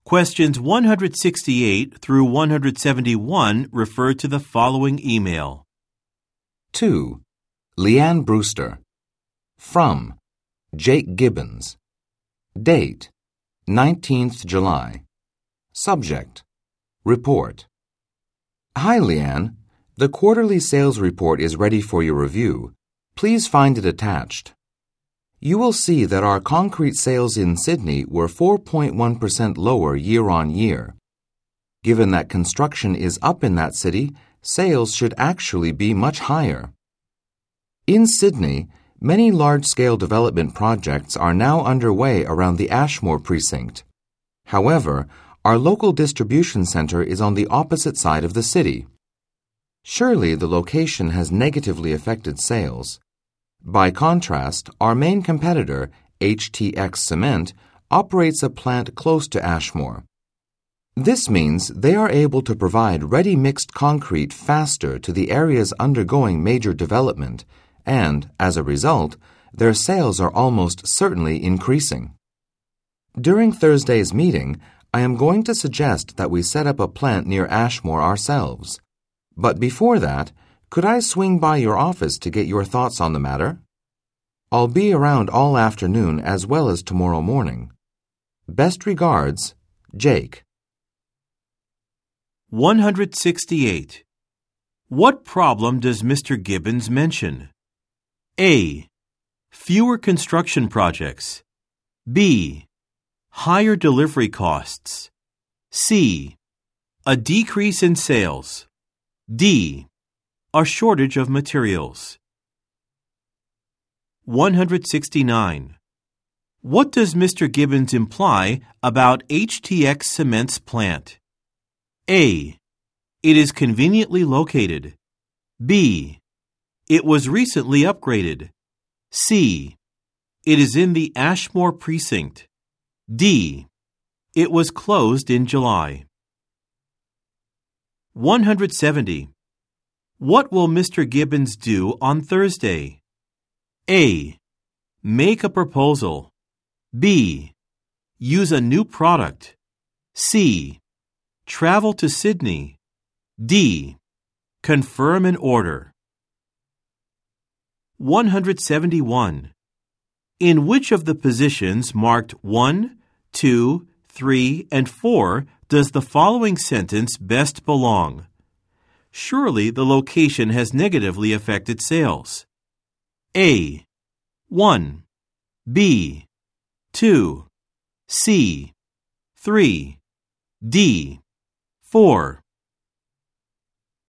Questions 168 through 171 refer to the following email. 2. Leanne Brewster. From Jake Gibbons. Date 19th July. Subject Report. Hi Leanne. The quarterly sales report is ready for your review. Please find it attached. You will see that our concrete sales in Sydney were 4.1% lower year on year. Given that construction is up in that city, sales should actually be much higher. In Sydney, many large-scale development projects are now underway around the Ashmore precinct. However, our local distribution center is on the opposite side of the city. Surely the location has negatively affected sales. By contrast, our main competitor, HTX Cement, operates a plant close to Ashmore. This means they are able to provide ready-mixed concrete faster to the areas undergoing major development, and, as a result, their sales are almost certainly increasing. During Thursday's meeting, I am going to suggest that we set up a plant near Ashmore ourselves. But before that, could I swing by your office to get your thoughts on the matter? I'll be around all afternoon as well as tomorrow morning. Best regards, Jake. 168. What problem does Mr. Gibbons mention? A. Fewer construction projects. B. Higher delivery costs. C. A decrease in sales. D. A shortage of materials. 169. What does Mr. Gibbons imply about HTX Cement's plant? A. It is conveniently located. B. It was recently upgraded. C. It is in the Ashmore precinct. D. It was closed in July. 170. What will Mr. Gibbons do on Thursday? A. Make a proposal. B. Use a new product. C. Travel to Sydney. D. Confirm an order. 171. In which of the positions marked 1, 2, 3, and 4 does the following sentence best belong? Surely the location has negatively affected sales. A. 1. B. 2. C. 3. D. 4.